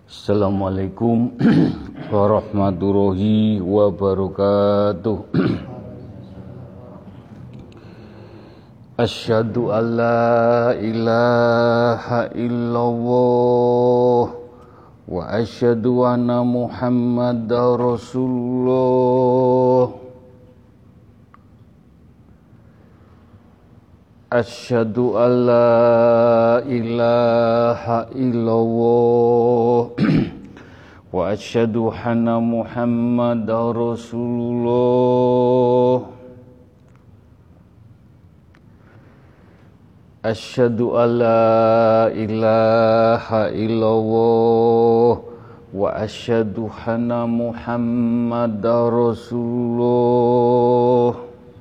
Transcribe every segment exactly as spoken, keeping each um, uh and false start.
Assalamualaikum warahmatullahi wabarakatuh. Asyhadu an la ilaha illallah wa asyhadu anna Muhammadar Rasulullah. Asyhadu an la ilaha illallah wa asyhadu anna Muhammadar Rasulullah. Asyhadu an la ilaha illallah wa asyhadu anna Muhammadar Rasulullah.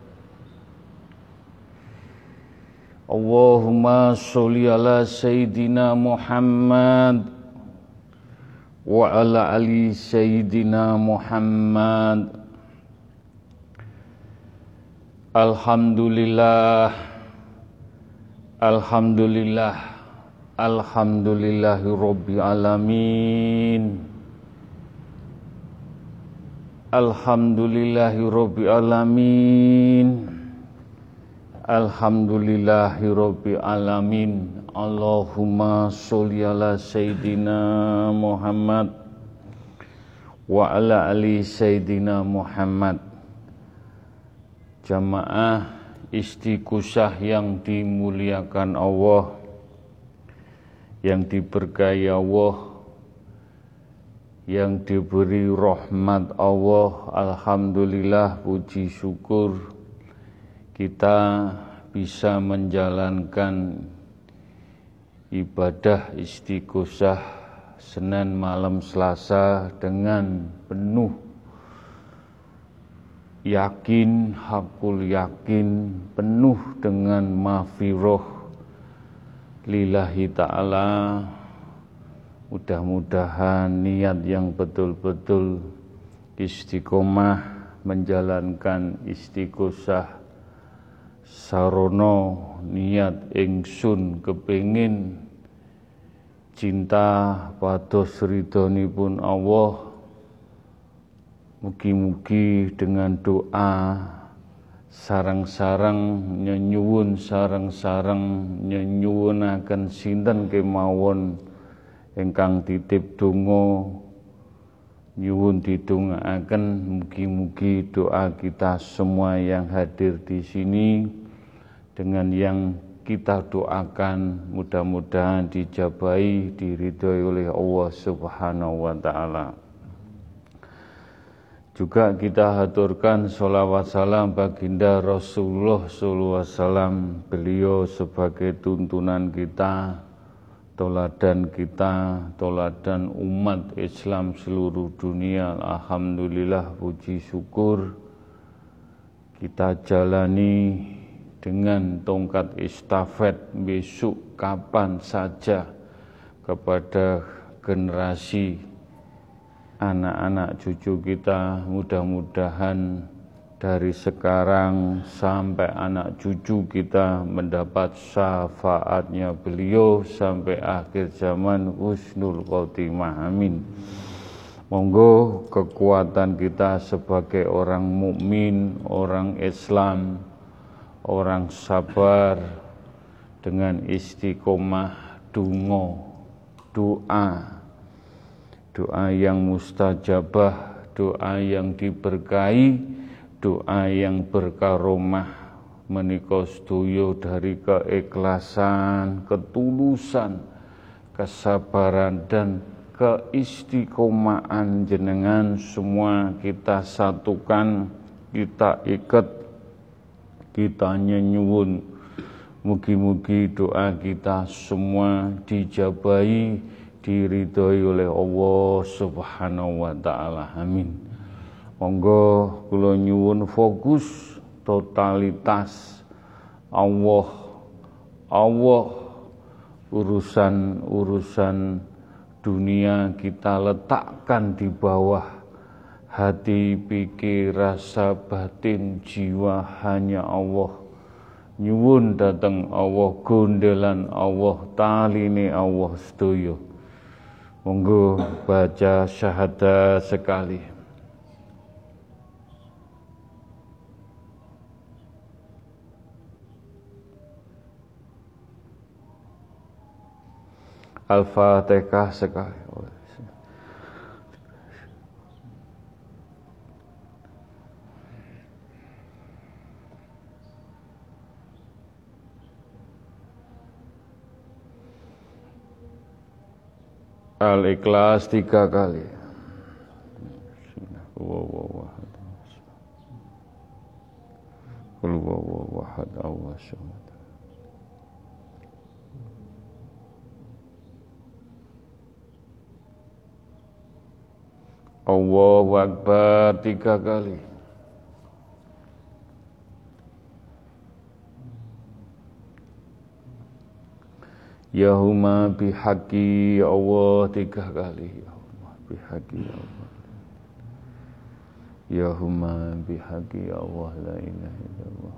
Allahumma sholli ala Sayyidina Muhammad wa ala ali Sayyidina Muhammad. Alhamdulillah, Alhamdulillah, Alhamdulillahi Rabbil Alamin. Alhamdulillahi Rabbil Alamin. Alhamdulillahi Rabbil Alamin. Allahumma sholli ala Sayyidina Muhammad wa ala ali Sayyidina Muhammad. Jamaah istighosah yang dimuliakan Allah, yang diberkahi Allah, yang diberi rahmat Allah. Alhamdulillah, puji syukur kita bisa menjalankan ibadah istighosah Senin malam Selasa dengan penuh yakin, hakul yakin, penuh dengan maghfirah lillahi ta'ala. Mudah-mudahan niat yang betul-betul istiqomah menjalankan istighosah sarono niat ingsun kepengin cinta pados ridhonipun Allah. Mugi-mugi dengan doa sarang-sarang nyenyuwun sarang-sarang nyenyuwunaken sinten kemawon ingkang titip donga nyuwun didongaaken. Mugi-mugi doa kita semua yang hadir di sini dengan yang kita doakan mudah-mudahan dijabahi, diridhoi oleh Allah Subhanahu wa taala. Juga kita haturkan sholawat salam baginda Rasulullah sallallahu alaihi wasallam. Beliau sebagai tuntunan kita, toladan kita, toladan umat Islam seluruh dunia. Alhamdulillah, puji syukur kita jalani dengan tongkat estafet besok kapan saja kepada generasi anak-anak cucu kita. Mudah-mudahan dari sekarang sampai anak cucu kita mendapat syafaatnya beliau sampai akhir zaman, husnul khotimah, amin. Monggo kekuatan kita sebagai orang mukmin, orang Islam, orang sabar dengan istiqomah donga, doa, doa yang mustajabah, doa yang diberkahi, doa yang berkaromah menika sedaya dari keikhlasan, ketulusan, kesabaran dan keistiqomahan jenengan semua kita satukan, kita ikat, kita nyenyuwun. Mugi-mugi doa kita semua dijabahi, diridhoi oleh Allah Subhanahu wa taala, amin. Monggo kula nyuwun fokus totalitas Allah, Allah, urusan-urusan dunia kita letakkan di bawah hati, pikir, rasa batin, jiwa hanya Allah. Nyuwun dateng Allah, gondelan Allah, taline Allah sedaya. Monggo baca syahadat sekali. Al-Fatihah sekali. Al-Ikhlas tiga kali. Qul huwallahu ahad, Allahu samad. Allahu Akbar tiga kali. Yahuma bihaqi Allah tiga kali. Yahuma bihaqi Allah. Yahuma bihaqi Allah la ilaha illallah.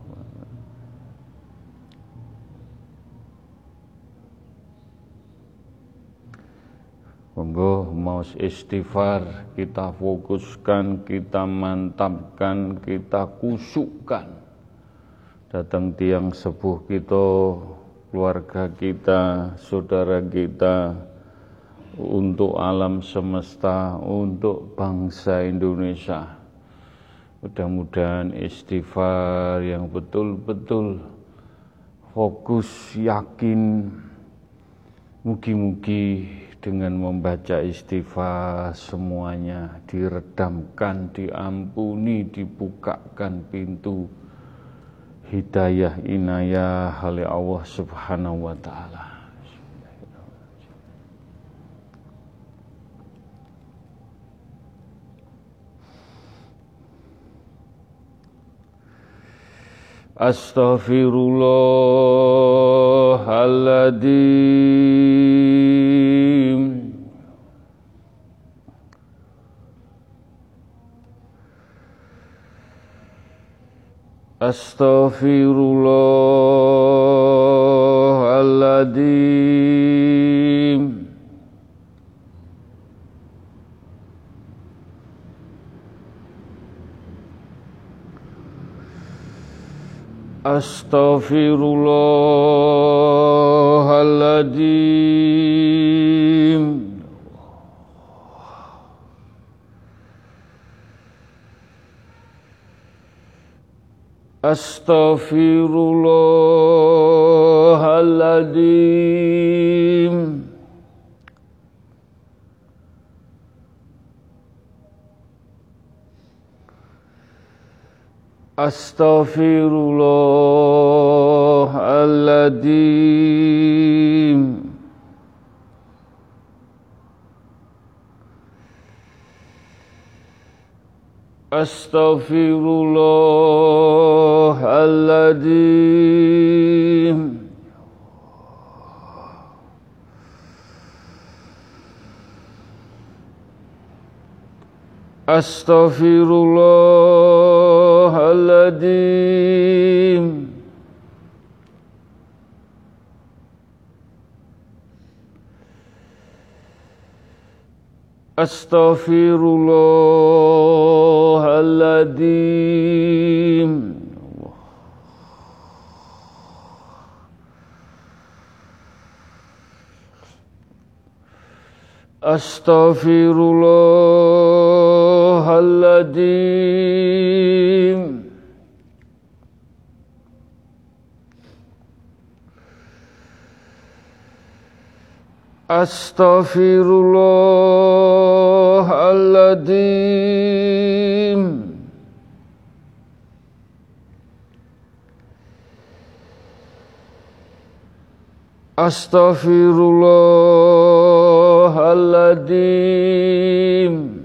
Monggo mau istighfar, kita fokuskan, kita mantapkan, kita kusukkan. Datang tiang sepuh kita, keluarga kita, saudara kita, untuk alam semesta, untuk bangsa Indonesia. Mudah-mudahan istighfar yang betul-betul fokus, yakin, mugi-mugi dengan membaca istighfar semuanya diredamkan, diampuni, dibukakan pintu hidayah inayah oleh Allah Subhanahu wa taala. Astaghfirullahaladzim. Astaghfirullahaladzim. Astaghfirullahaladzim. Astaghfirullahaladzim. Astaghfirullahaladzim. Astaghfirullahaladzim. Astaghfirullahaladzim. Astaghfirullahaladzim. Astaghfirullahaladzim. Astaghfirullahaladzim. Astaghfirullahaladzim.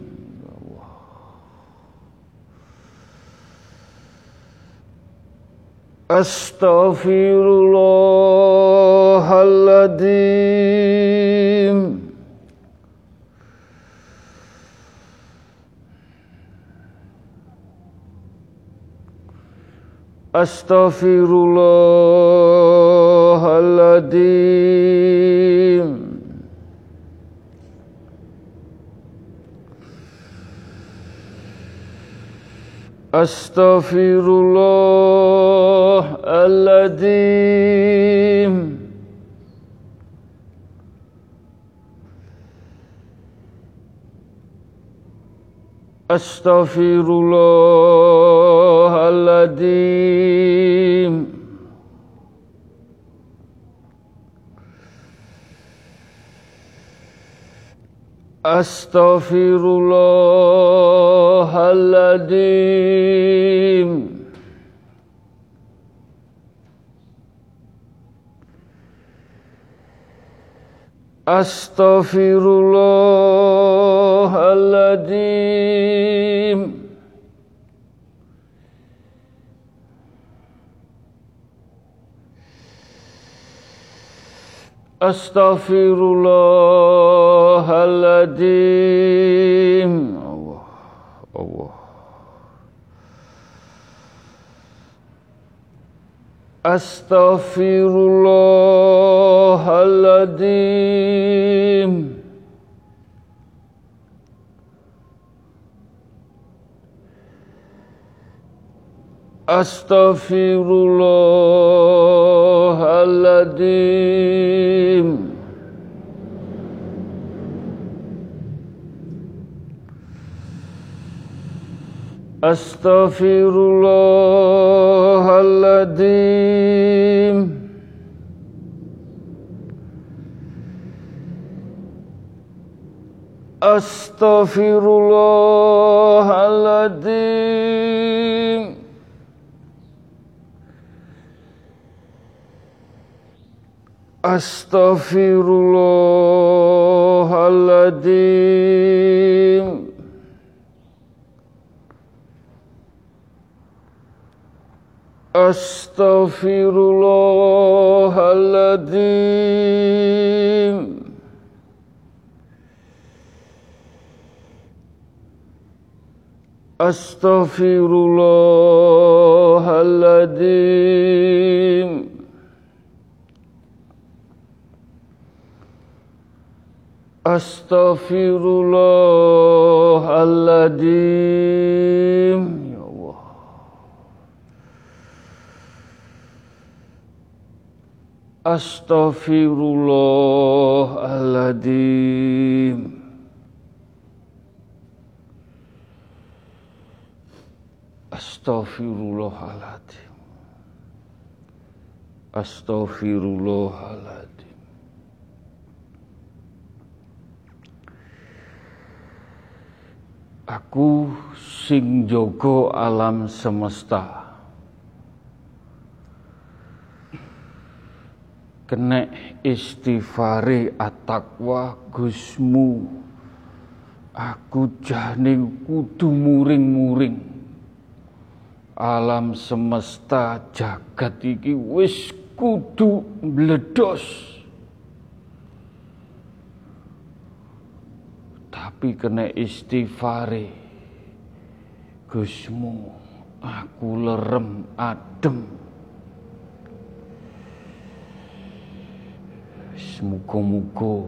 Astaghfirullahaladzim. Astaghfirullahaladzim. Astaghfirullahaladzim. Astaghfirullahaladzim. Astaghfirullahaladzim. Astaghfirullahaladzim. Astaghfirullahaladzim. Allah, Allah. Astaghfirullahaladzim. Astaghfirullahaladzim. Astaghfirullahaladzim. Astaghfirullahaladzim. Astaghfirullahaladzim. Astaghfirullahaladzim. Astaghfirullahaladzim. Astaghfirullahaladzim. Ya Allah. Astaghfirullahaladzim. Astaghfirullahaladzim. Astaghfirullahaladzim. Aku sing jaga alam semesta, kenek istighfare at-taqwa Gusmu, aku jane kudu muring-muring. Alam semesta jagat iki wis kudu meledos. Tapi kena istighfare Gusmu, aku lerem adem. Muga-muga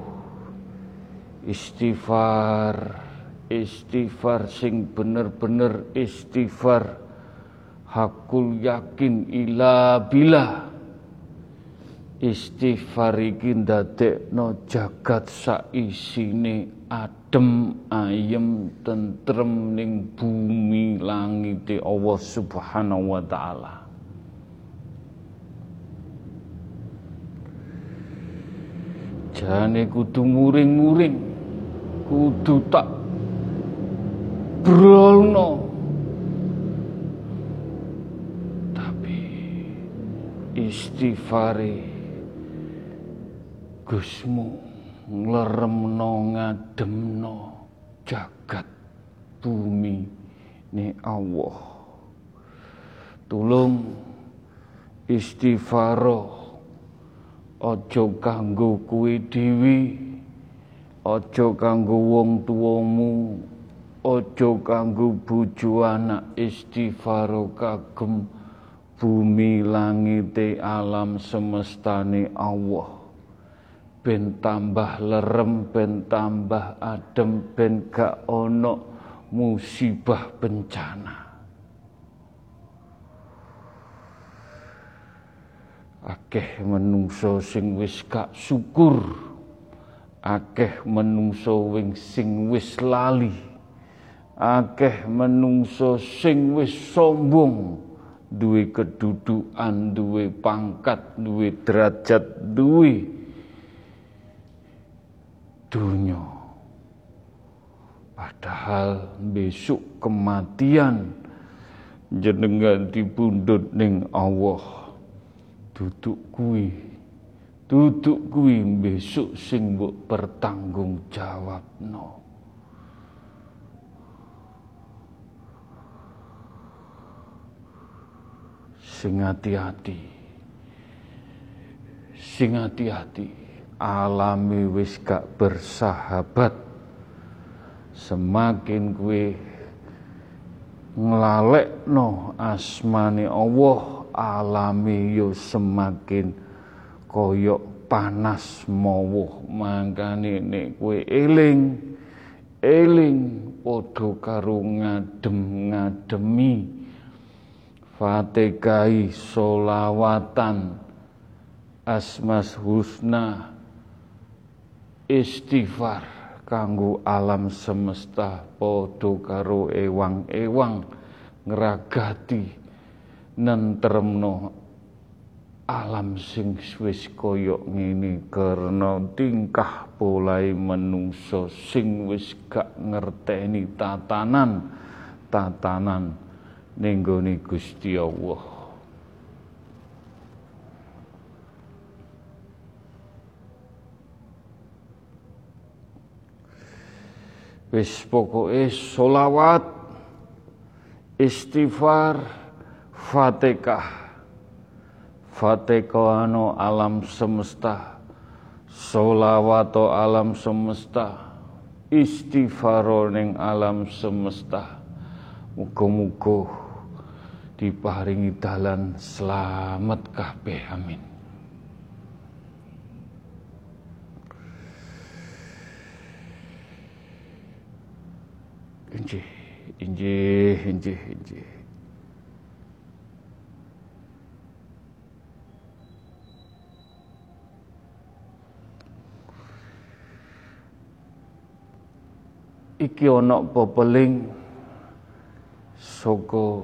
istighfar, istighfar sing bener-bener istighfar hakul yakin ila bila. Istighfar iki ndadekno jagat saisine adem ayem tentrem ning bumi langite Allah Subhanahu wa taala. Jane kudu muring-muring, kudu tak brolno. Tapi istighfare Gusmu ngleremno ngademno jagat bumi ni Allah. Tulung istighfaro aja kanggo kowe dhewe, aja kanggo wong tuamu, aja kanggo bojo anak, istighfaro kagem bumi langite alam semestane Allah. Ben tambah lerem, ben tambah adem, ben gak ono musibah bencana. Akeh menungso sing wis gak syukur, akeh menungso wing sing wis lali, akeh menungso sing wis sombong, duwe kedudukan, duwe pangkat, duwe derajat, duwe dunya. Padahal besok kematian jenengan dipundhut ning Allah. Duduk kuwi, duduk kuwi besok sing mbok pertanggung jawabno. Sing hati-hati, sing hati-hati, alami wis gak bersahabat. Semakin kuwi nglalekno asmane Allah, alami yo semakin koyok panas mawuh. Mangkane nek kowe eling eling padha karo ngadem-ngademi Fatihah, sholawatan, asmas husna, istighfar kanggo alam semesta, padha karo ewang-ewang ngragati nentremno alam sing wis kaya ngene karena tingkah polahe menungso sing wis gak ngerteni tatanan tatanan ning gone Gusti Allah. Wis pokoke sholawat, istighfar, Fatihah. Fatihah ano alam semesta, sholawat alam semesta, istighfar ning alam semesta. Muga-muga diparingi dalan selamat kabeh, amin. Injih, injih, injih, injih. Iki ana pepeling saka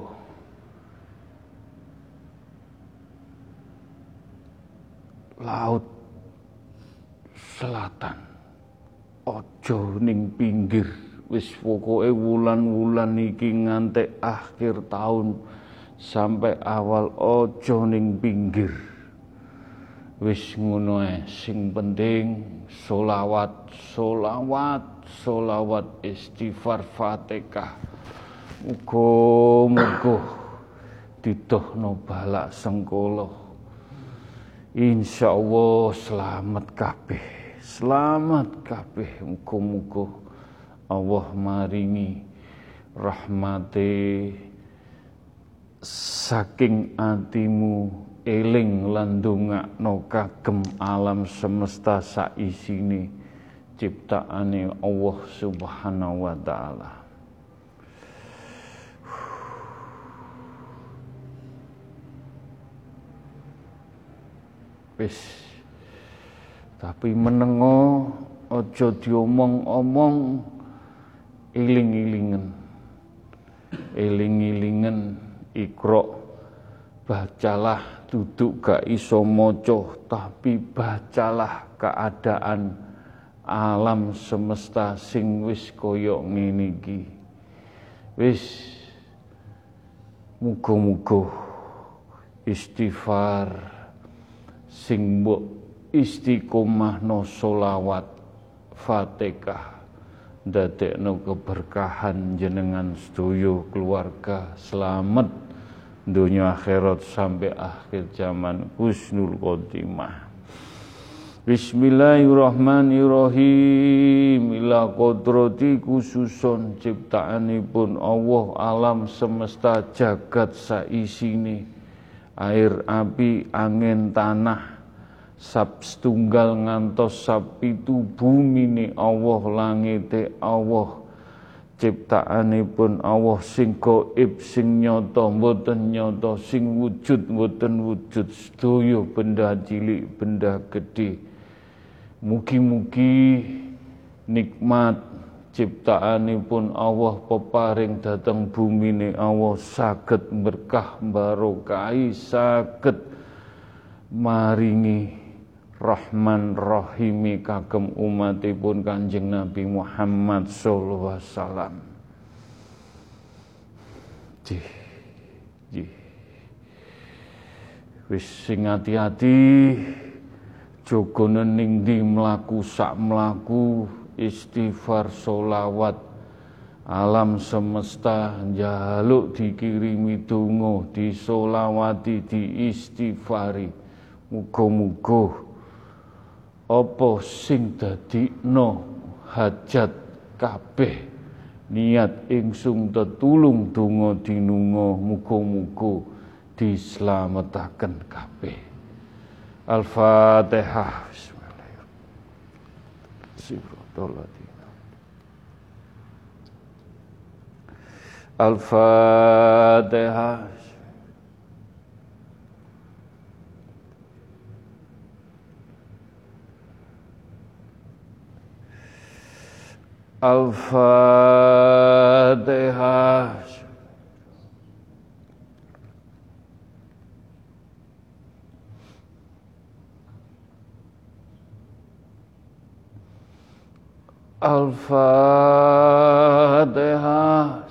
laut selatan. Aja ning pinggir. Wis pokoke wulan-wulan iki ngantek akhir tahun sampai awal aja ning pinggir. Wis ngono ae, sing penting sholawat, sholawat, sholawat, istighfar, Fatihah. Muga-muga didohno balak sengkala. Insyaallah selamat kabeh, selamat kabeh. Muga-muga Allah maringi rahmate saking atimu eling lan ndongakno kagem alam semesta saisine ciptaane Allah Subhanahu wa taala. Wis tapi menengo aja diomong-omong, iling-ilingen, iling-ilingen, Iqra, bacalah, duduk gak iso maca, tapi bacalah keadaan alam semesta sing wis kaya ngene iki. Wis muga-muga istighfar sing mbok istiqomahno sholawat, Fatihah, dadekno keberkahan jenengan sedaya keluarga selamat dunia akhirat sampai akhir zaman, husnul khotimah. Bismillahirrahmanirrahim. Ila kodrati khususon ciptaanipun Allah alam semesta jagat saisine, air, api, angin, tanah, sab setunggal ngantos sab itu bumi ni Allah, langite Allah, ciptaanipun Allah sing gaib sing nyata mboten nyata, sing wujud mboten wujud, sedaya benda cilik benda gedhe. Mugi-mugi nikmat ciptaanipun Allah peparing dhateng bumine Allah saged berkah barokahi, saged maringi Rahman Rahimi kagem umatipun Kanjeng Nabi Muhammad sallallahu alaihi wasallam. Jih, jih. Wis sing ati-ati, jogone ning ndi mlaku sak mlaku, istighfar solawat, alam semesta njaluk dikirimi donga, disolawati, diistighfari. Muga-muga apa sing dadikno hajat kabeh niat ingsun tetulung donga dinunga, muga-muga dislametaken kabeh. Al-Fatihah. Bismillahirrahmanirrahim. Al-Fatihah. Al-Fatihah. Al-Fatihah.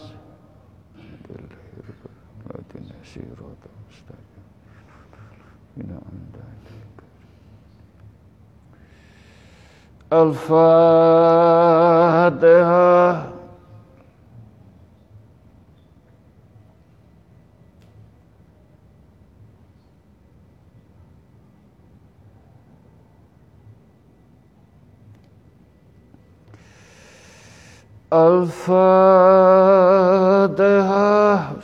Al-Fatihah. Al-Fatihah.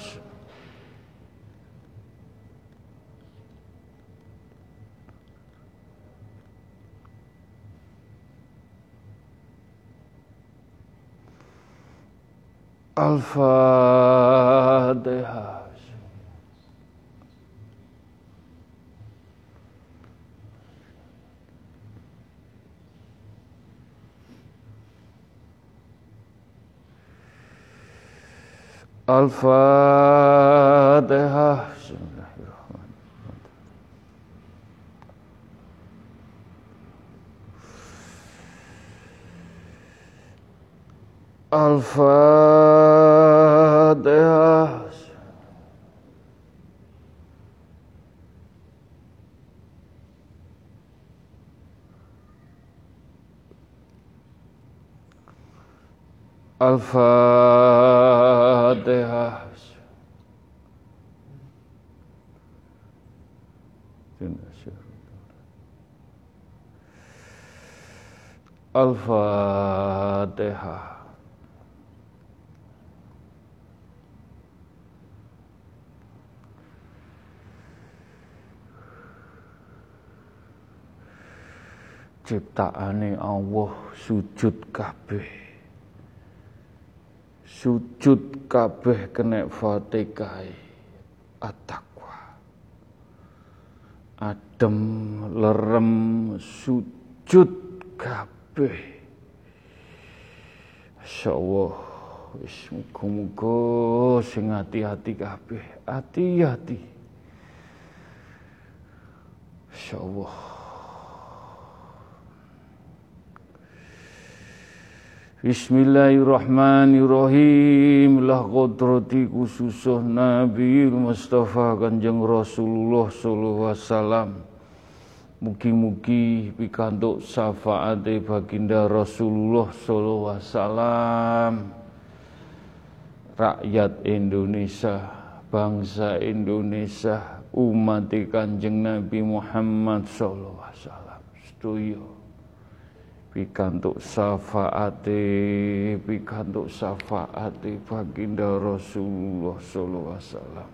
Al-Fatihah. Al-Fatihah. Al-Fatihah. Al-Fatihah. Al-Fatihah. Ciptaane Allah sujud kabeh, sujud kabeh kena Fatihah, at-taqwa, adem lerem sujud kabeh. Masyaallah, wis muga-muga sing ati-ati kabeh, ati-ati. Masyaallah. Bismillahirrahmanirrahim. Lah qadrati khususuh Nabi Mustafa Kanjeng Rasulullah sallallahu alaihi wasallam. Mugi-mugi pikantuk syafaate baginda Rasulullah sallallahu alaihi wasallam. Rakyat Indonesia, bangsa Indonesia, umat Kanjeng Nabi Muhammad sallallahu alaihi wasallam. Sedoyo pikantuk syafaate, pikantuk syafaate baginda Rasulullah sallallahu alaihi wasallam.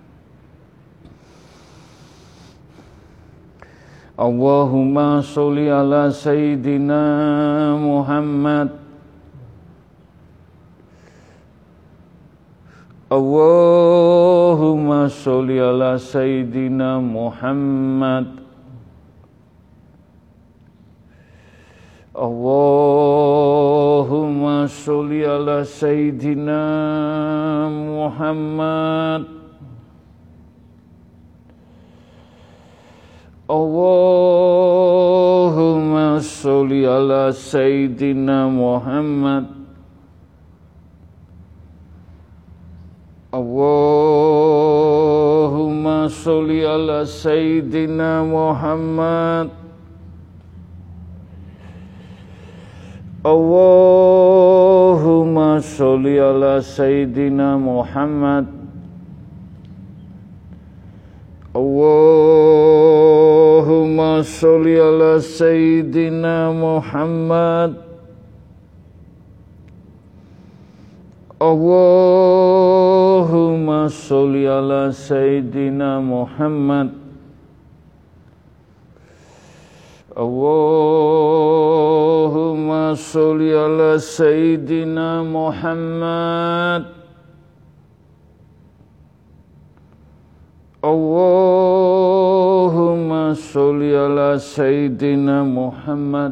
Allahumma sholli ala Sayyidina Muhammad Allahumma sholli ala Sayyidina Muhammad. Allahumma sholli ala Sayyidina Muhammad. Allahumma sholli ala Sayyidina Muhammad. Allahumma sholli ala Sayyidina Muhammad. Allahumma sholli ala Sayyidina Muhammad. Allahumma sholli ala Sayyidina Muhammad. Allahumma sholli ala Sayyidina Muhammad. Allahumma sholli ala Sayyidina Muhammad. Allahumma sholli ala Sayyidina Muhammad.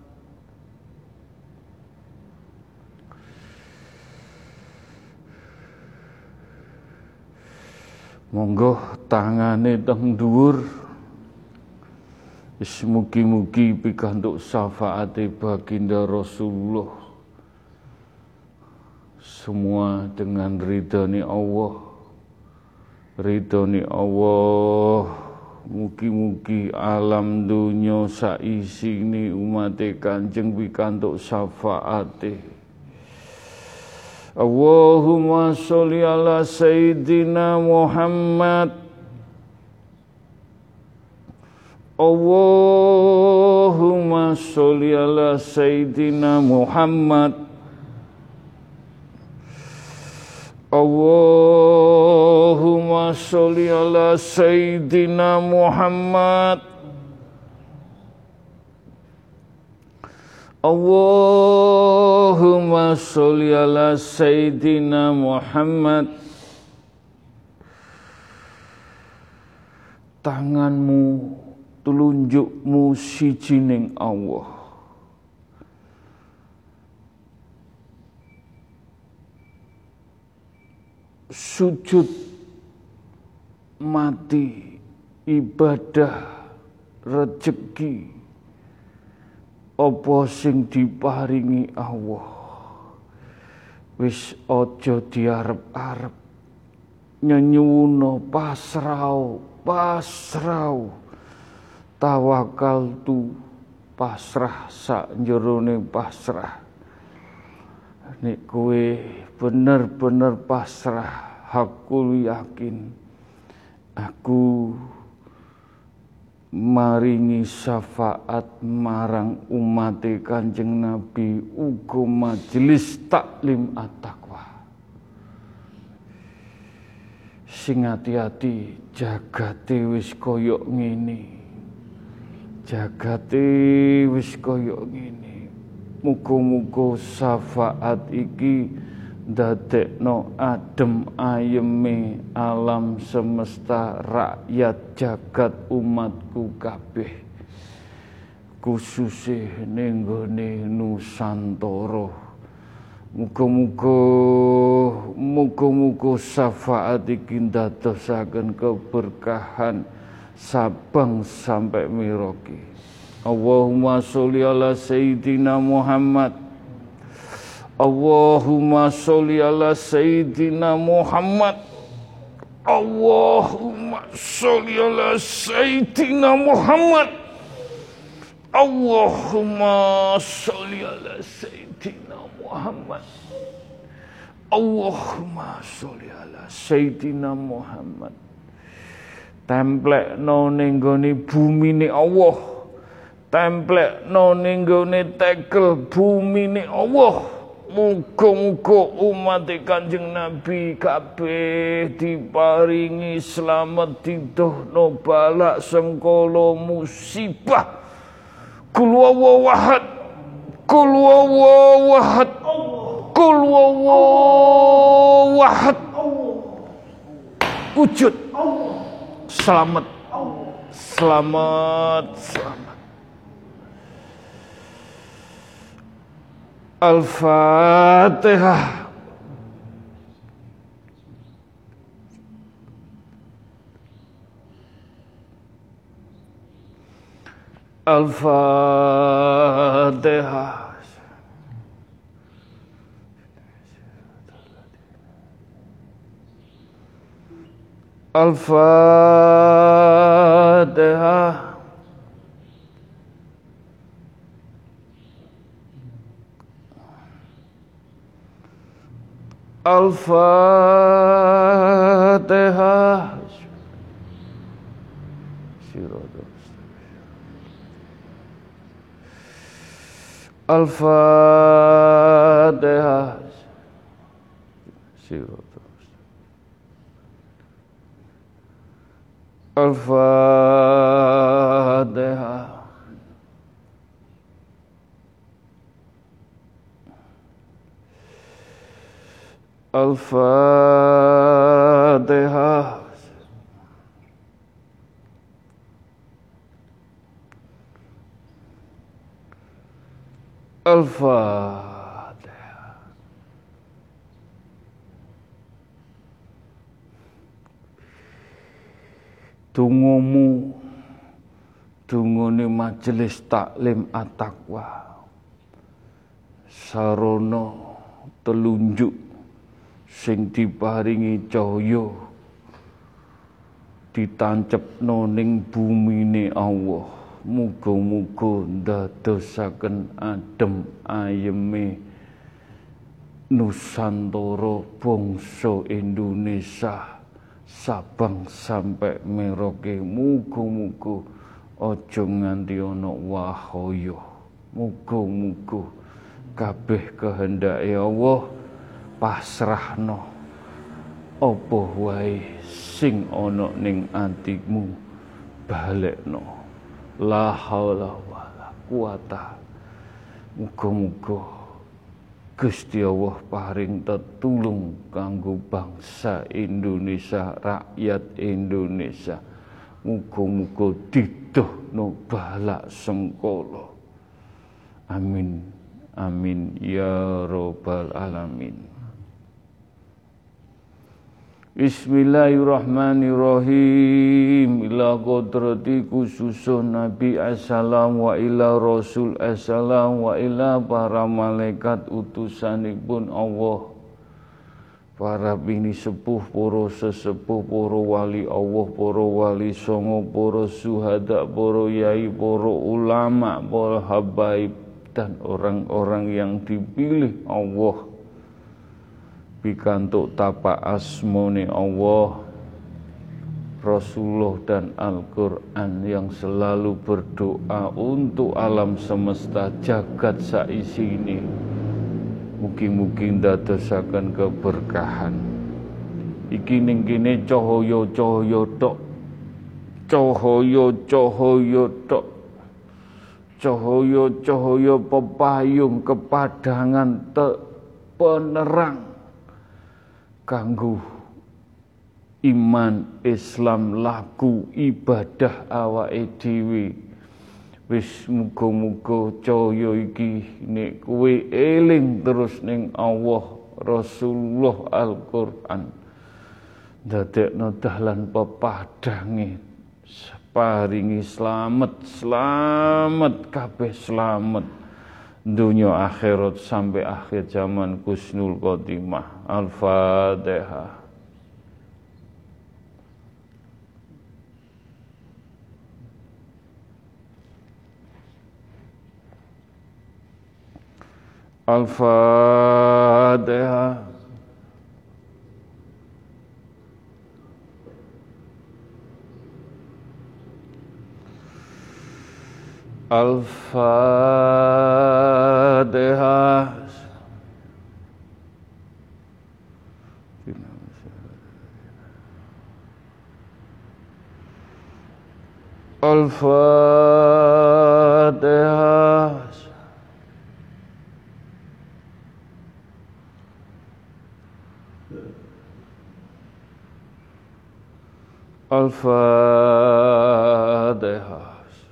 Monggo tangane teng dhuwur. Mugi-mugi pikantuk syafaate baginda Rasulullah. Semua dengan ridhani Allah. Ridhani Allah. Mugi-mugi alam dunya saisine umate Kanjeng pikantuk syafaate. Allahumma sholli ala Sayyidina Muhammad. Allahumma sholli ala Sayyidina Muhammad. Allahumma sholli ala Sayyidina Muhammad. Allahumma sholli ala Sayyidina Muhammad. Tanganmu, telunjukmu siji ning Allah. Sujud mati, ibadah, rezeki apa sing diparingi Allah. Wis aja diarep-arep, nyenyuwuna pasrah, pasrah. Tawakal tu pasrah sak jerone pasrah. Nek kowe bener-bener pasrah, aku yakin aku maringi syafaat marang umat Kanjeng Nabi uga majelis taklim at-taqwa. Sing ati-ati jagate wis kaya ngene. Jagate wis kaya ngene. Muga-muga syafaat iki dadekno adem ayeme alam semesta, rakyat jagat umatku kabeh, khususé ning nggone Nusantara. Muga-muga muga-muga syafaat iki ndadosaken keberkahan Sabang sampai Merauke. Allahumma sholli ala Sayyidina Muhammad. Allahumma sholli ala Sayyidina Muhammad. Allahumma sholli ala Sayyidina Muhammad. Allahumma sholli ala Sayyidina Muhammad. Allahumma sholli ala Sayyidina Muhammad. Templekno ning gone bumine Allah. Templekno ning gone tekel bumine Allah. Muga-muga umat Kanjeng Nabi kabeh diparingi slamet didohno balak sengkala musibah. Kul huwallahu ahad. Kul huwallahu ahad. Kul huwallahu ahad. wujud. Selamat, selamat, selamat. Al-Fatihah. Al-Fatihah. Al-Fatihah. Al-Fatihah. Al-Fatihah. Al-Fatihah. Al-Fatihah. Al-Fatihah. Tungomu, tungone majelis taklim at-taqwa, sarana telunjuk sing diparingi cahya ditancepno ning bumine Allah. Muga-muga ndadosaken adem ayeme Nusantara bangsa Indonesia Sabang sampai Merauke. Muga-muga aja nganti ana wahaya. Muga-muga kabeh kehendake Allah pasrahno apa wae sing ana ning atimu balekno. La haula wala quwata. Muga-muga Gusti Allah paring tetulung kanggo bangsa Indonesia, rakyat Indonesia. Muga-muga didohno balak sengkala. Amin. Amin ya rabbal alamin. Bismillahirrahmanirrahim. Ila qadrati khususun Nabi assalam wa ila Rasul assalam wa ila para malaikat utusanipun Allah. Para bini sepuh, para sesepuh, para wali Allah, para wali songo, para syuhada, para yai, para ulama, para habaib, dan orang-orang yang dipilih Allah pikantuk tapak asmone Allah, Rasulullah dan Al-Quran yang selalu berdoa untuk alam semesta jagat saisi ini. Mugi-mugi ndadosaken keberkahan. Iki ning kene cahaya-cahaya tok. Cahaya-cahaya tok. Cahaya-cahaya pepayung kepadangan te penerang kanggo iman Islam laku ibadah awake dhewe. Wis muga-muga cahya iki nek kowe eling terus ning Allah, Rasulullah, Al-Qur'an, dadekno dalan pepadange, paringi slamet, slamet kabeh slamet dunia akhirat sampai akhir zaman husnul khotimah. Al-Fatihah. Al-Fatihah. Al-Fatihah. Al-Fatihah. Al-Fatihah.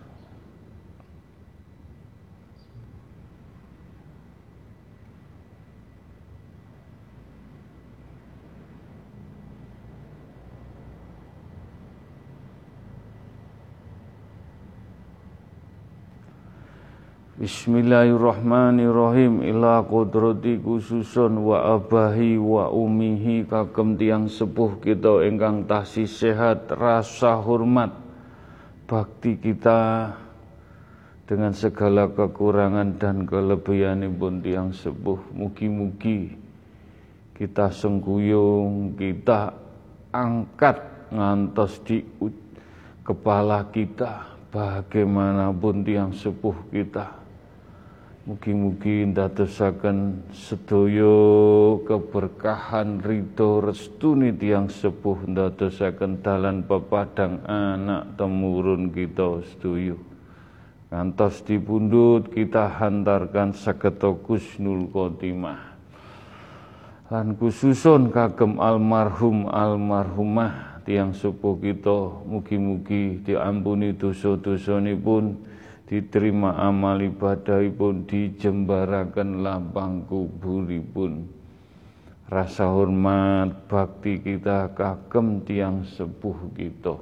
Bismillahirrahmanirrahim. Ila qudrati khususun wa abahi wa umihi kagem tiang sepuh kita ingkang tasih sehat, rasa hormat bakti kita dengan segala kekurangan dan kelebihanipun tiang sepuh. Mugi-mugi kita sengkuyung, kita angkat ngantos di kepala kita bagaimanapun tiang sepuh kita. Mugi-mugi ndadosaken sedaya keberkahan ridho restuni tiyang sepuh, ndadosaken dalan pepadang anak temurun kita sedaya. Ngantos dipundhut kita hantarkan sageta kusnul khotimah. Lan khususun kagem almarhum almarhumah tiyang sepuh kita, mugi-mugi diampuni dosa-dosanipun, diterima amal ibadahipun, dijembaraken lapang kuburipun. Rasa hormat bakti kita kagem tiang sepuh kita.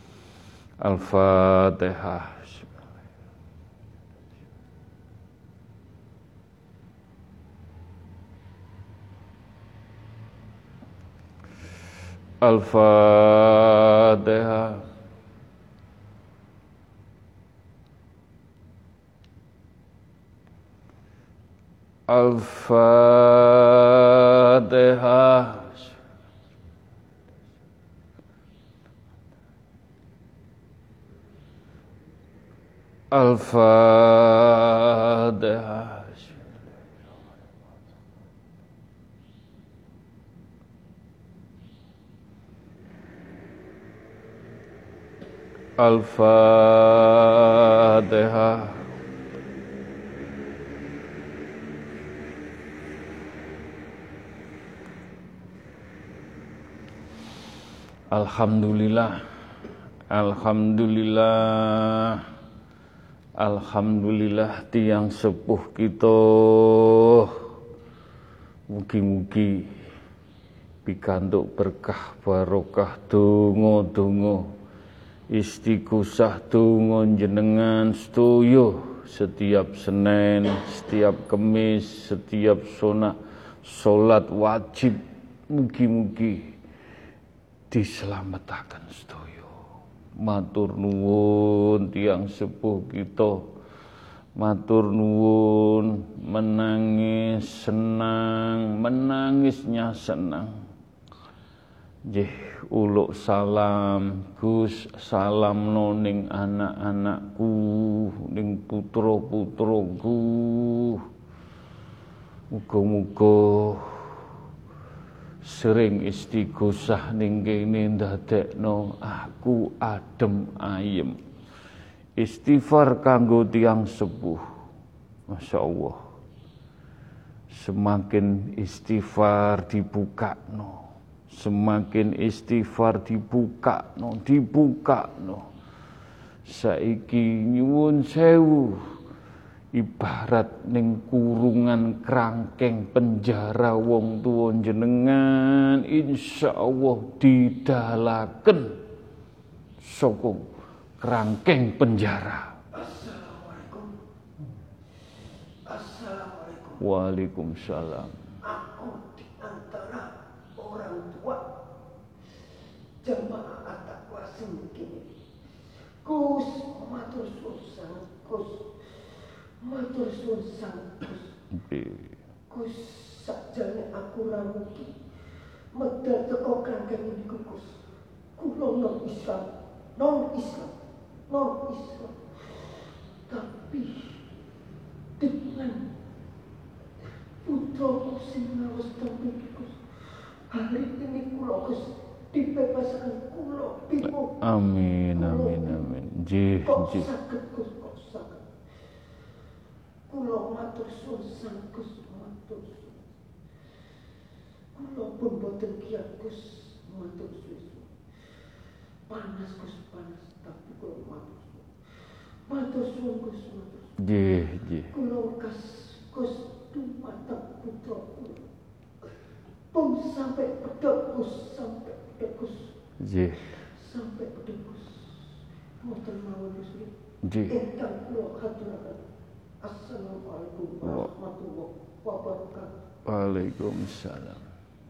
Al-Fatihah. Al-Fatihah. Al-Fatihah. Al-Fatihah. Al-Fatihah. Alhamdulillah, Alhamdulillah, Alhamdulillah tiang sepuh kita. Mugi-mugi pikantuk berkah barokah donga-donga istighosah donga jenengan sedaya setiap Senin, setiap Kemis, setiap sunah salat wajib. Mugi-mugi dislametaken sedaya. Matur nuwun tiyang sepuh kita. Matur nuwun, menangis senang, menangisnya senang. Nggih, uluk salam, Gus, salam ning anak-anakku, ning putra-putraku. Muga-muga sering istighosah ning kene ndadekno aku adem ayem. Istighfar kanggo tiyang sepuh. Masya Allah. Semakin istighfar dibukakno, semakin istighfar dibukakno, dibukakno. Saiki nyuwun sewu, ibarat ning kurungan krangkeng penjara wong tuwa jenengan insyaallah didalaken saka krangkeng penjara. Assalamualaikum. Assalamualaikum. Waalaikumsalam. Aku di antara orang tua jamaah at-taqwa singkini. Gus matur suwun Gus. Matur suwun Gus. Gus sakjane aku ra mugi medal teko krangkeng niku Gus. Kula non Islam, non Islam. Non Islam, tapi dengan putra sing ngawas tembikus hari ini kula Gus dibebaskan kula pipo. Amin amin amin. Nggih nggih. Saged Gus kok saged. Kula matur suwun Gus, matur suwun. Kula pun boten kiyat Gus, matur suwun. panas Gus, panas, tapi kula matur. Matur suwun Gus, matur. Nggih, nggih. Kula kas Gus dumateng putra kula. Pun sampai pedhot Gus, sampai pedhot Gus. Nggih. Sampai pedhot Gus. Mboten mawon Gus. Nggih. Ingkang kula aturaken. Assalamualaikum warahmatullahi wabarakatuh. Waalaikumsalam.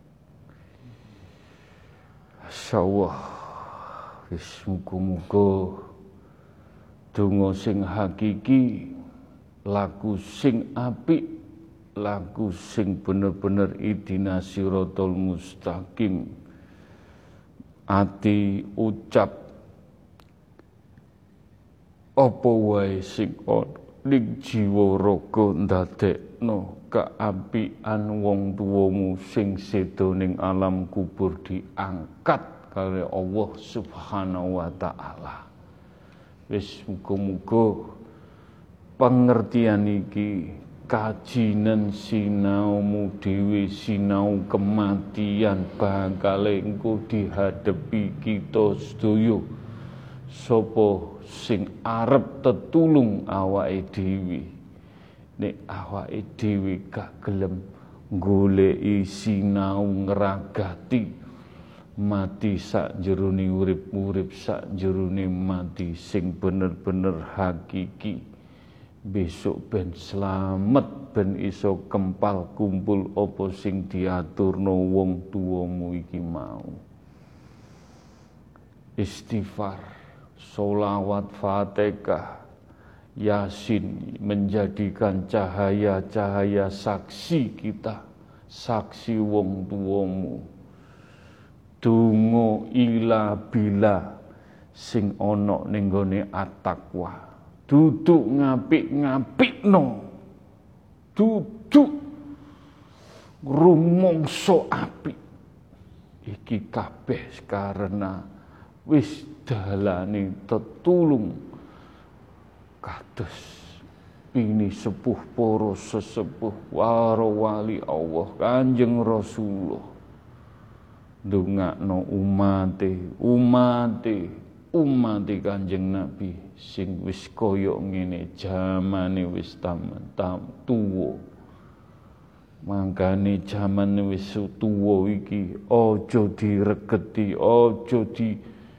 Masyaallah. Wis muga-muga donga sing hakiki, laku sing apik, laku sing bener-bener idina siratal mustaqim. Ati ucap apa wae sing ana ning jiwa raga ndadekno keapian wong tuwamu sing sedo ning alam kubur diangkat kali Allah Subhanahu wa taala. Wis muga-muga pengertian iki kajinan sinaumu dhewe sinau kematian bakal engko dihadapi kita sedaya. Sapa sing arep tetulung awake dhewe nek awake dhewe gak gelem goleki sinau ngragati mati sak jerone urip-urip sak jerone mati sing bener-bener hakiki besok ben slamet ben iso kempal kumpul apa sing diaturno wong tuamu iki mau. Istighfar, sholawat, fatihah, yasin menjadikan cahaya-cahaya saksi kita, saksi wong tuamu. Donga ila bila sing ana ning gone at-taqwa. Duduk ngapik-ngapikno. Duduk rumangsa apik. Iki kabeh karena wis dalane tetulung kados pini sepuh para sesepuh para wali Allah Kanjeng Rasulullah ndongakno umate umate umate Kanjeng Nabi sing wis kaya ngene jamane wis tam-tam tuwa. Mangkane jamane wis tuwa iki aja diregeti, aja di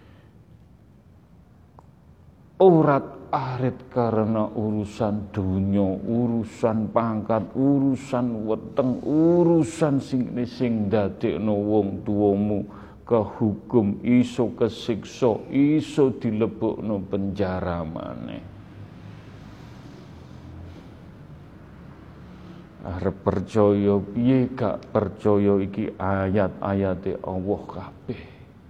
urat-arit karena urusan dunia, urusan pangkat, urusan weteng, urusan sing sing dadekno wong tuamu kehukum, iso kesiksa, iso dilebokno penjara maneh. Arep percaya piye gak percaya iki ayat-ayate Allah kabeh.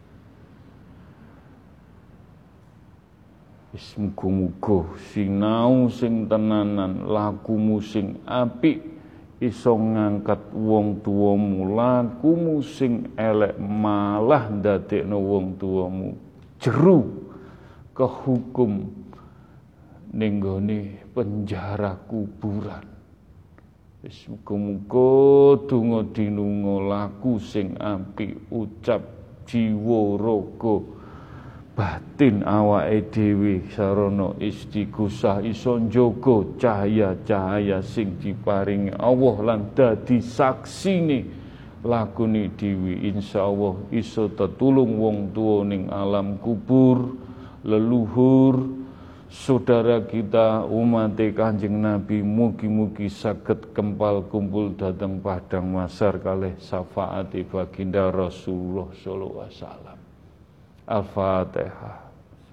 Wis muga-muga sinau sing tenanan, lakumu sing apik iso ngangkat wong tuamu, lakumu sing elek malah ndadekno wong tuamu jeru kehukum ning gone penjara kuburan. Wis muga-muga donga dinunga laku sing apik, ucap jiwa raga batin awake dhewe sarana istighosah iso njaga cahaya-cahaya sing diparingi Allah lan dadi saksine lakune dhewe insyaallah iso tetulung wong tuwa ning alam kubur, leluhur saudara kita umat Kanjeng Nabi mugi-mugi saged kempal kumpul dhateng padang mahsyar kalih syafaate baginda Rasulullah sallallahu alaihi wasallam. Al-Fatihah.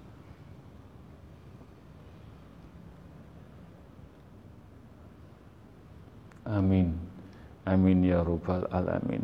Amin. Amin ya rabbal alamin.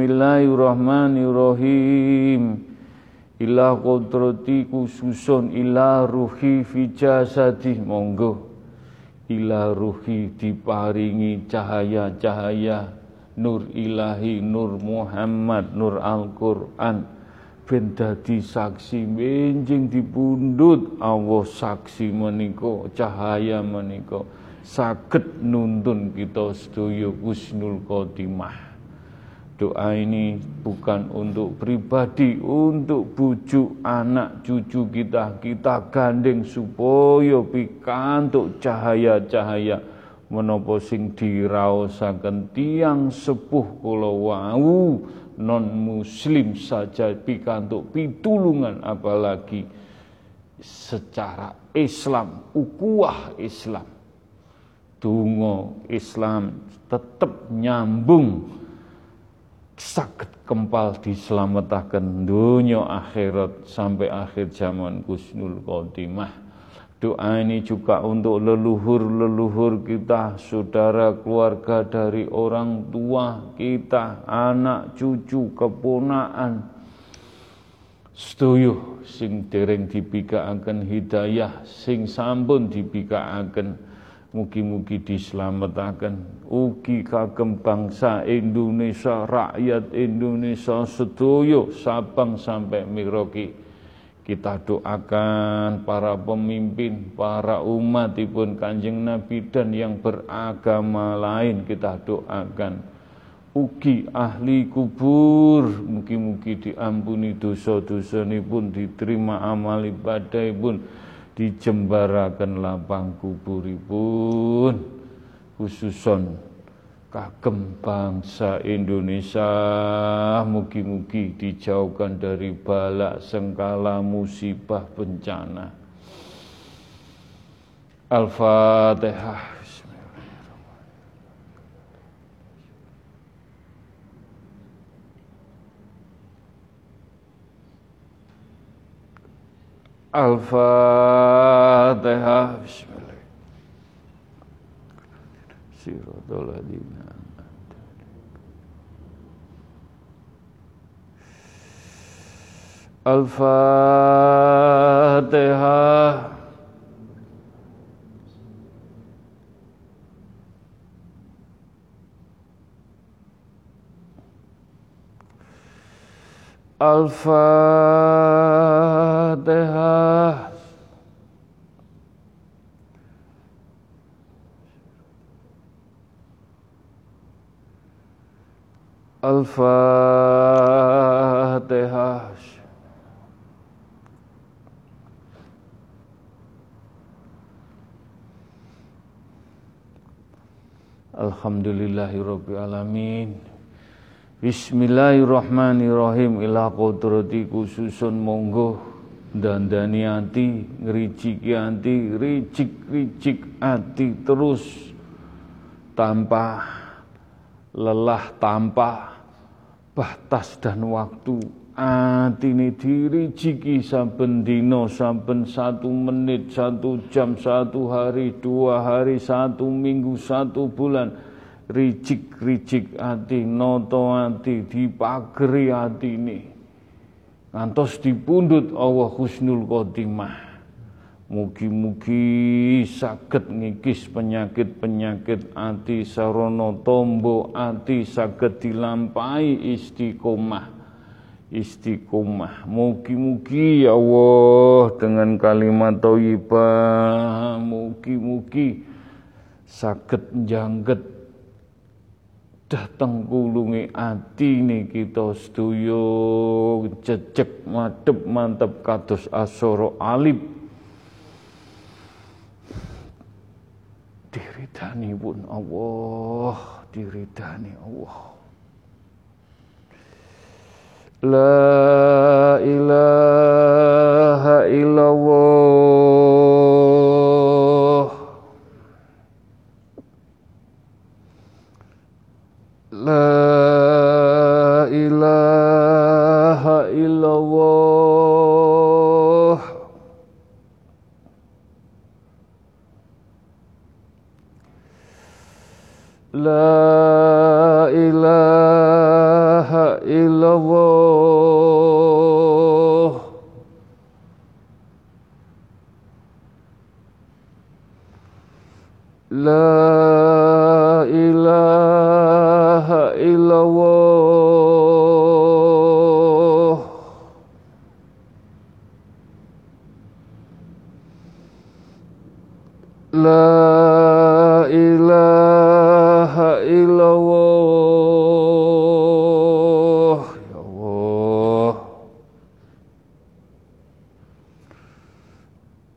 Bismillahirrahmanirrahim. Ila qudrati khususun ila ruhi fi jasadi, monggo ila ruhi diparingi cahaya-cahaya nur ilahi, nur Muhammad, nur Al-Qur'an ben dadi saksi benjing dipundhut Allah saksi menika cahaya menika saged nuntun kita sedaya husnul khotimah Doa ini bukan untuk pribadi, untuk bujuk anak cucu kita. Kita gandeng supaya pikantuk cahaya-cahaya menapa sing diraosaken tiyang sepuh kula wau non muslim saja pikantuk pitulungan, apalagi secara Islam, ukuah Islam. Donga Islam tetep nyambung, saged kempal dislametaken dunya akhirat sampai akhir zaman husnul khotimah. Doa ini juga untuk leluhur-leluhur kita, saudara keluarga dari orang tua kita, anak cucu keponakan sedaya sing dereng dibikaaken hidayah, sing sampun dibikaaken mugi-mugi dislametaken. Ugi kagem bangsa Indonesia, rakyat Indonesia sedaya Sabang sampai Merauke. Kita doakan para pemimpin, para umatipun Kanjeng Nabi dan yang beragama lain, kita doakan. Ugi ahli kubur, mugi-mugi diampuni dosa-dosanipun, diterima amal ibadahipun, dijembaraken lapang kuburipun, khususon kagem bangsa Indonesia, mugi-mugi dijauhkan dari bala sengkala musibah bencana. Al-Fatihah. Al-Fatihah. Bismillah. Siratal ladzina Al-Fatihah. Al-Fatihah. Al-Fatihah. Alhamdulillahirabbil alamin. Bismillahirrahmanirrahim. Ila qudrati khususun monggo dandani ati, ngriciki ati, ricik-ricik ati terus tanpa lelah, tanpa batas dan waktu. Atine diriciki saben dina, saben satu menit, satu jam, satu hari, dua hari, satu minggu, satu bulan. Ricik-ricik ati, noto ati, dipageri atine ngantos dipundhut Allah husnul khotimah. Mugi-mugi saged ngikis penyakit-penyakit ati sarana tombo ati, saged dilampahi istiqomah. Istiqomah. Mugi-mugi ya Allah dengan kalimat thayyibah, mugi-mugi saged njangget dateng kulunge atine kita sedaya, jejeg madhep mantep kados asara alif. Diridani pun Allah, diridani Allah. La ilaha illallah. La ilaha illallah. La ilaha illallah. La ilaha illallah. La ilaha illallah.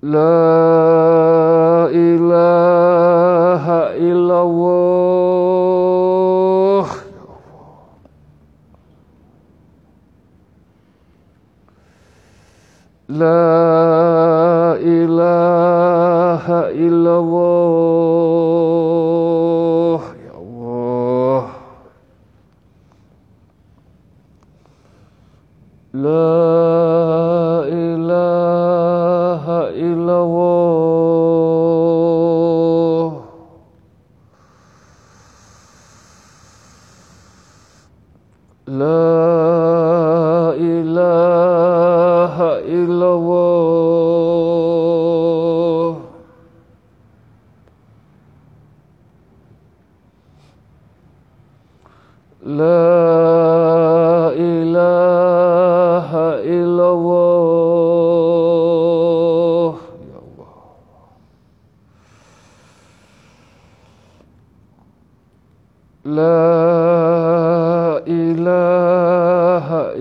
La ilaha illallah. La ilaha illallah. Ya Allah. La ilaha illallah. La ilaha illallah. La ilaha illallah. Ya Allah. La ilaha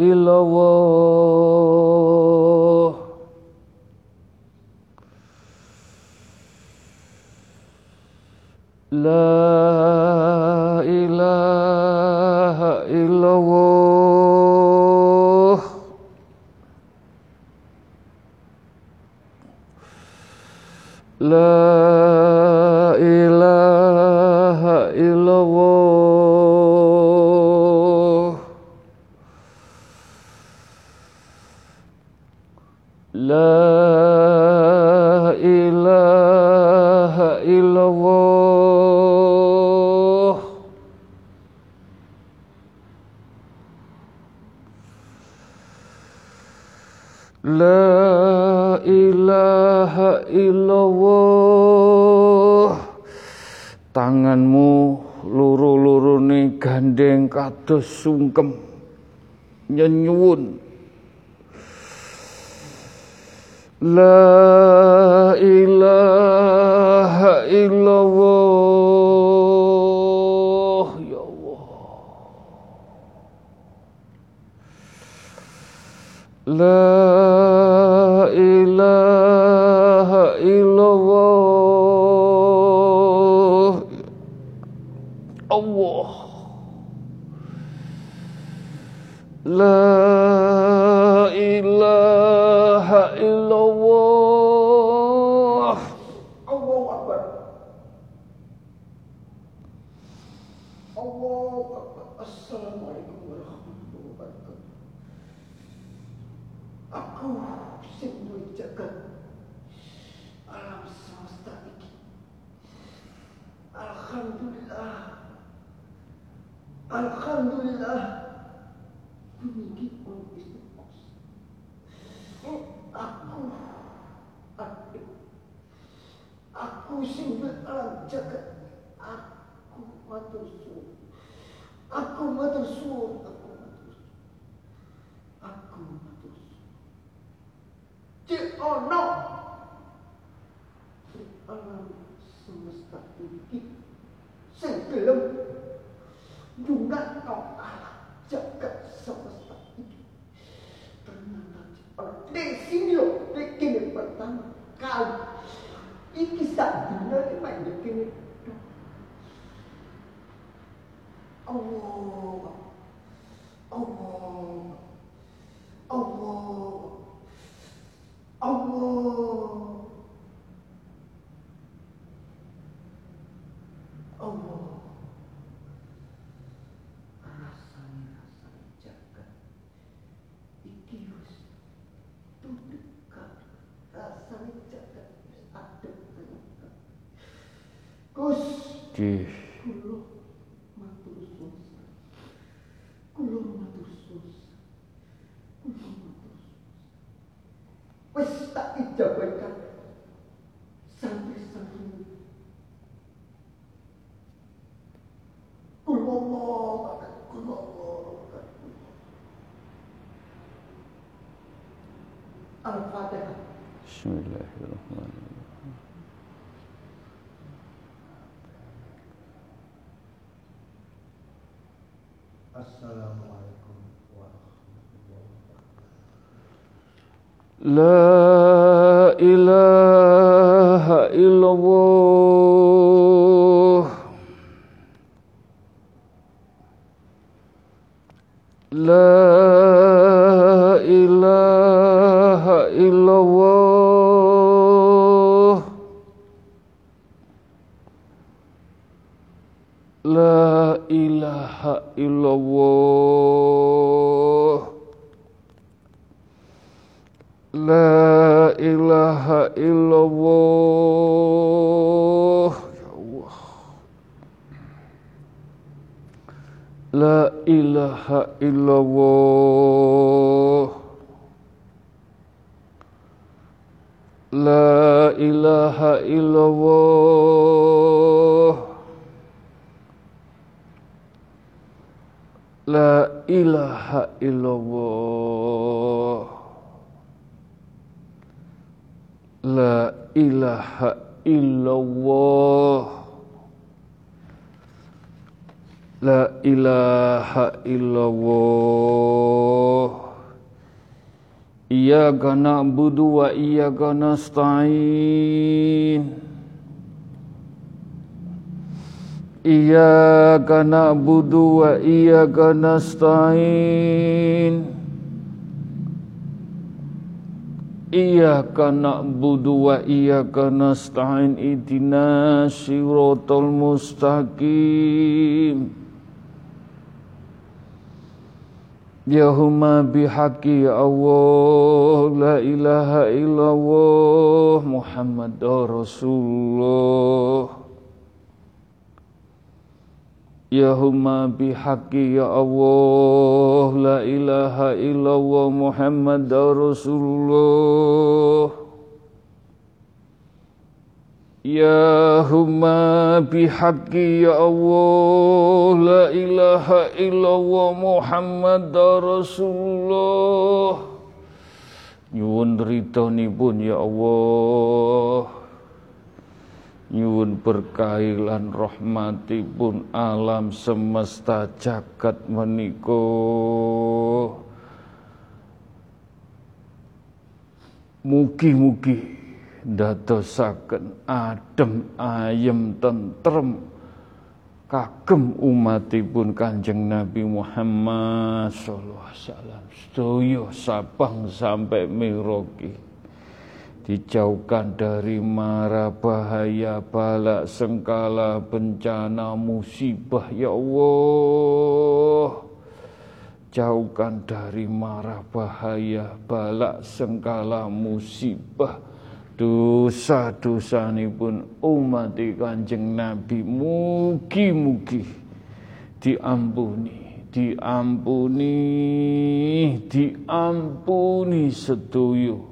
illallah. La ilaha illallah. La ilaha illallah. La ilaha illallah. La ilaha illallah. Tanganmu loro-lorone gandeng kados sungkem nyenyuwun. La ilaha illallah. Ya Allah. La ilaha illallah. Allah. La ilaha illallah. Allahu Akbar. Allahu Akbar. Assalamualaikum warahmatullahi wabarakatuh. Aku sing jagat alam semesta iki. Alhamdulillah. Alhamdulillah. Demikian pun istiqomah. Aku, aku, aku sing alam jagat. Aku matur suwun. Aku matur suwun. Aku matur suwun. Aku matur suwun. Cek ono alam semesta iki sing gelem nyunatno alam jagat semesta iki. Ternyata di sini loh, di kini pertama kali iki sak dina iki main di kini. Allah, Allah, Allah, Allah, Allah. Rasanya rasanya jagat iki wis dekat. Rasanya jagat wis adem tenan. Gus, Nggih. kula matur suwun. Kula matur suwun. Kula matur suwun. Wis tak ijabahkan santri-santri. Kula Allah, kula Allah. Al-Fatihah. Bismillahirrahmanirrahim. Assalamualaikum warahmatullahi wabarakatuh. La ilaha illallah La ilaha illallah La ilaha illallah La ilaha illallah Ya Allah La ilaha illallah La ilaha illallah La ilaha illallah La ilaha illallah La ilaha illallah Iyyaka na'budu wa iyyaka nasta'in Iyyaka na'budu wa iyyaka nasta'in Iyyaka na'budu wa iyyaka nasta'in Ihdinas siratal mustaqim Yahumma bihaqqi ya Allah la ilaha illallah Muhammadur Rasulullah Yahumma bihaqqi ya Allah la ilaha illallah Muhammadur Rasulullah Yahumma bihaqqi ya Allah la ilaha illallah Muhammadur Rasulullah Nyuwun ridhonipun ya Allah Nyuwun berkahi lan rahmatipun alam semesta jagat menika mugi-mugi ndadosaken adem ayem tentrem kagem umatipun Kanjeng Nabi Muhammad sallallahu alaihi wasallam sedaya sabang sampai Merauke dijauhkan dari mara bahaya bala sengkala bencana musibah ya Allah jauhkan dari mara bahaya bala sengkala musibah dosa-dosanipun umat Kanjeng Nabi mugi-mugi diampuni diampuni diampuni sedaya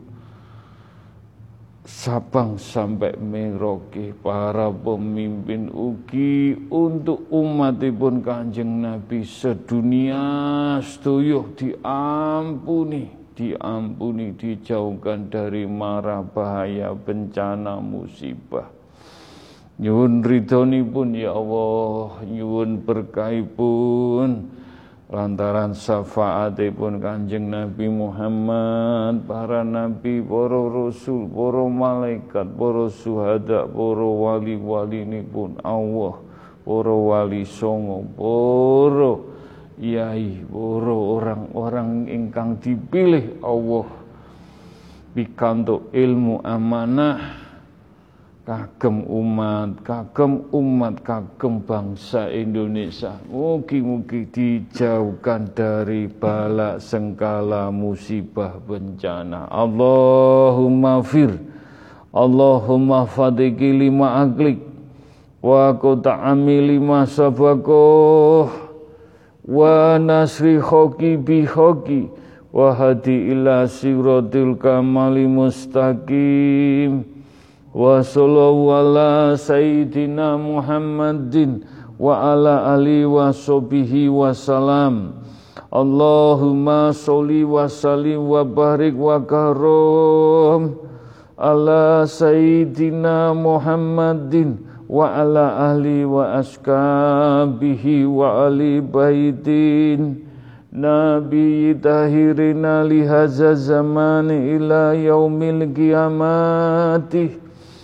Sabang sampai Merauke para pemimpin ugi untuk umatipun Kanjeng Nabi sedunia sedaya diampuni diampuni, dijauhkan dari mara bahaya bencana musibah. Nyuwun ridhonipun ya Allah, nyuwun berkahipun lantaran syafaatipun Kanjeng Nabi Muhammad, para nabi, para rasul, para malaikat, para syuhada, para wali-walinipun Allah, para wali songo, para Yai, para orang-orang ingkang dipilih Allah pikantuk ilmu amanah kagem umat, kagem umat, kagem bangsa Indonesia. Mugi-mugi dijauhkan dari bala sengkala musibah bencana. Allahumma fir, Allahumma fadiki lima aklik, wa quta'ami lima sabakoh, wa nasri hoki bi hoki wa hadi ila siratil kamali mustaqim wa sallallahu ala sayyidina Muhammadin wa ala ali wa sahbihi wa salam. Allahumma sholli wa sallim wa barik wa karom ala sayyidina Muhammadin wa ala ahli wa askabihi wa ali baitin nabi tahirina lihaza zamani ila yaumil qiyamati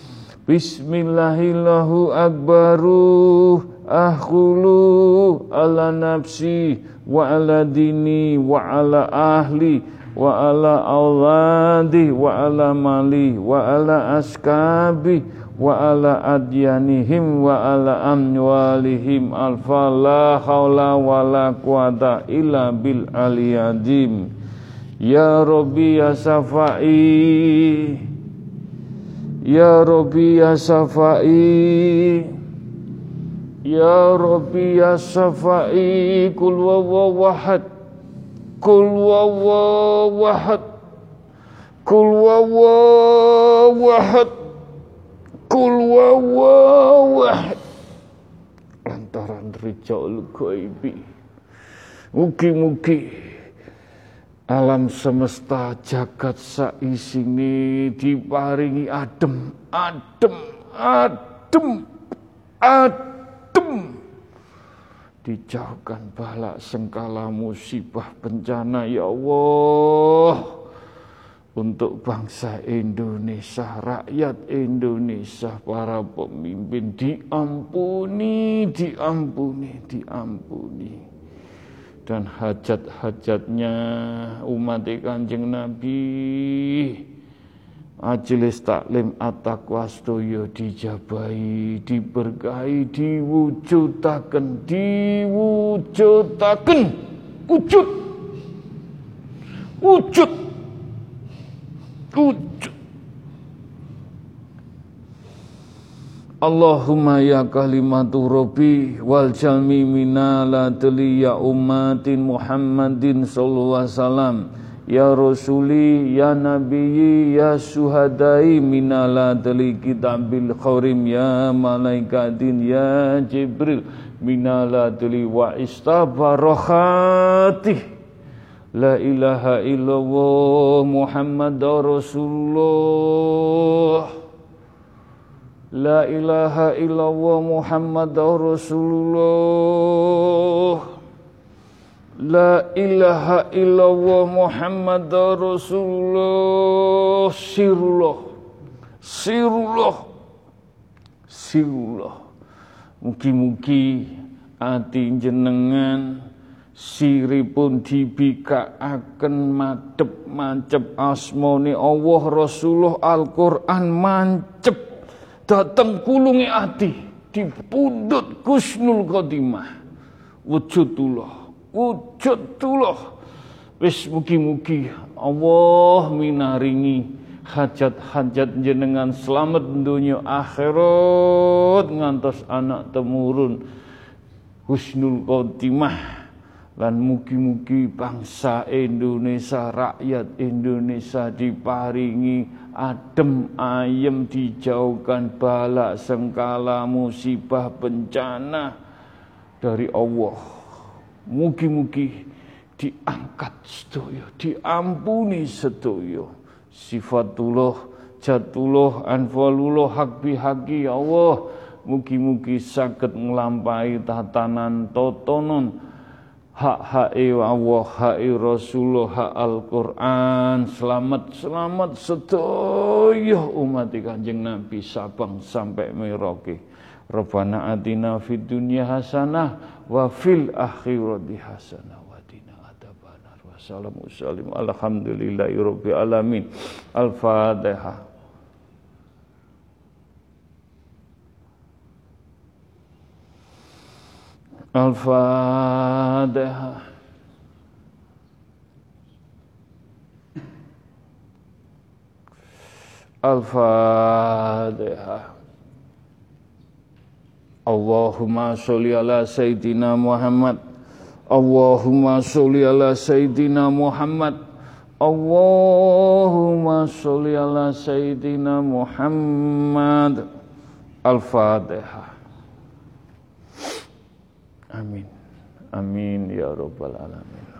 Bismillahillahu akbaru akhulu ala nafsi wa ala dini wa ala ahli wa ala awladi wa ala mali wa ala askabi wa ala adyanihim wa ala amwalihim alfa la hawla wa la quwata illa bil aliyadim. Ya Rabbi ya Safai, Ya Rabbi ya Safai, Ya Rabbi ya Safai, Kul wawawahad, Kul wawawahad, Kul wawawahad, Kul wawawahad. Lantaran Rijaul Ghaibi, mugi-mugi alam semesta jagat saisine diparingi adem, adem, adem, adem. Dijauhkan bala sengkala musibah bencana ya Allah. Untuk bangsa Indonesia, rakyat Indonesia, para pemimpin diampuni, diampuni, diampuni. Dan hajat-hajatnya umat Kanjeng Nabi majelis taklim at-taqwa sedaya dijabahi, diberkahi, diwujudaken, diwujudaken, wujud, wujud, wujud. Allahumma ya kalimatu Rabbi wal jalmi minala tali ya ummatin Muhammadin sallallahu alaihi wasallam ya rasuli ya nabiyyi ya suhadai minala tali kitabil khairim ya malaikatin ya Jibril minala tali wa istabarakati la ilaha illallah Muhammadur Rasulullah. La ilaha illallah Muhammadur Rasulullah. La ilaha illallah Muhammadur Rasulullah. Sirullah, sirullah, sirullah. Mugi-mugi ati jenengan siripun dibikaaken madhep mancep asmane Allah, Rasulullah, Al-Qur'an mancep dateng kulungi ati dipundhut Husnul Khotimah. Wujudullah, wujudullah. Wis mugi-mugi Allah minaringi hajat-hajat jenengan selamat dunya akhirat ngantos anak temurun Husnul Khotimah. Lan mugi-mugi bangsa Indonesia, rakyat Indonesia diparingi adem ayem, dijauhkan bala sengkala musibah bencana dari Allah. Mugi-mugi diangkat sedaya, diampuni sedaya. Sifatullah, jatullah, anfalullah, hak bihaqi ya Allah. Mugi-mugi saged nglampahi tatanan totonon hak-hak Allah, hak Rasulullah, hak Al-Quran. Selamat, selamat sedaya umat Kanjeng Nabi Sabang sampai Merauke. Rabbana atina fid dunya hasanah wa fil akhirati hasanah wa qina adzabannar. Wassalamu alaikum alhamdulillahi rabbil alamin. Al-Fatihah. Al-Fatihah. Al-Fatihah. Allahumma sholli ala Sayyidina Muhammad. Allahumma sholli ala Sayyidina Muhammad. Allahumma sholli ala Sayyidina Muhammad. Al-Fatihah. Amin. Amin ya rabbal alamin.